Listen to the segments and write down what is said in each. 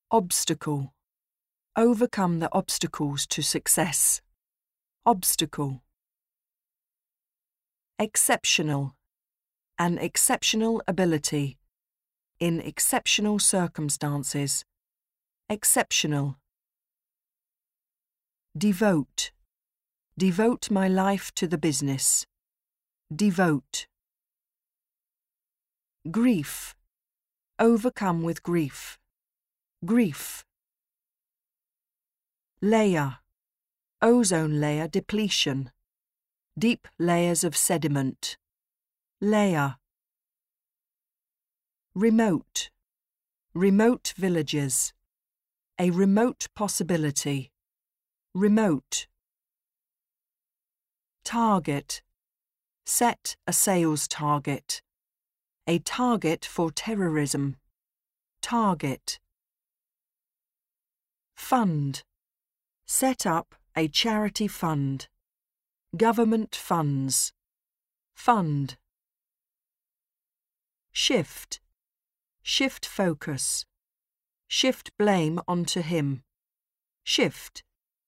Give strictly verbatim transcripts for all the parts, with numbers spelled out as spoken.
Obstacle. Overcome the obstacles to success. Obstacle. Exceptional. An exceptional ability. In exceptional circumstances. Exceptional. Devote. Devote my life to the business. Devote. Grief. Overcome with grief. Grief. Layer. Ozone layer depletion. Deep layers of sediment. Layer. Remote. Remote villages. A remote possibility. Remote. Target. Set a sales target. A target for terrorism. Target. Fund. Set up a charity fund. Government funds. Fund. Shift. Shift focus. Shift blame onto him. Shift.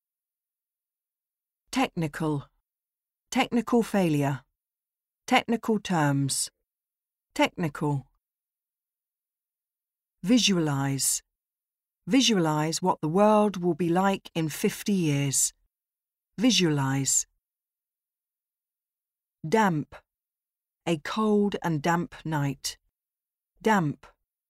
Technical. Technical failure. Technical terms. Technical. Visualize. Visualize what the world will be like in fifty years. Visualize. Damp. A cold and damp night. Damp.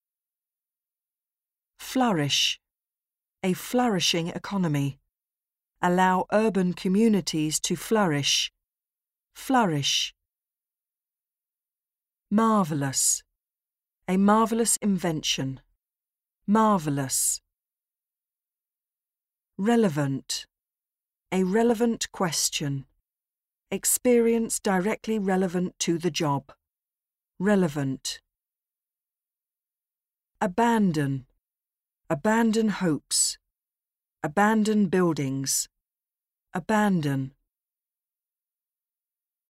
Flourish. A flourishing economy. Allow urban communities to flourish. Flourish. Marvelous. A marvelous invention. Marvelous. Relevant. A relevant question. Experience directly relevant to the job. Relevant. Abandon. Abandon hopes. Abandon buildings. Abandon.